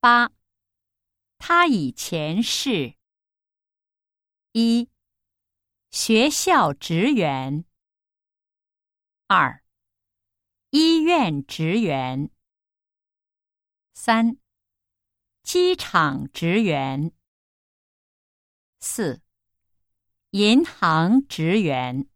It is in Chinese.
8. 他以前是：1. 学校职员。2. 医院职员。3. 机场职员。4. 银行职员。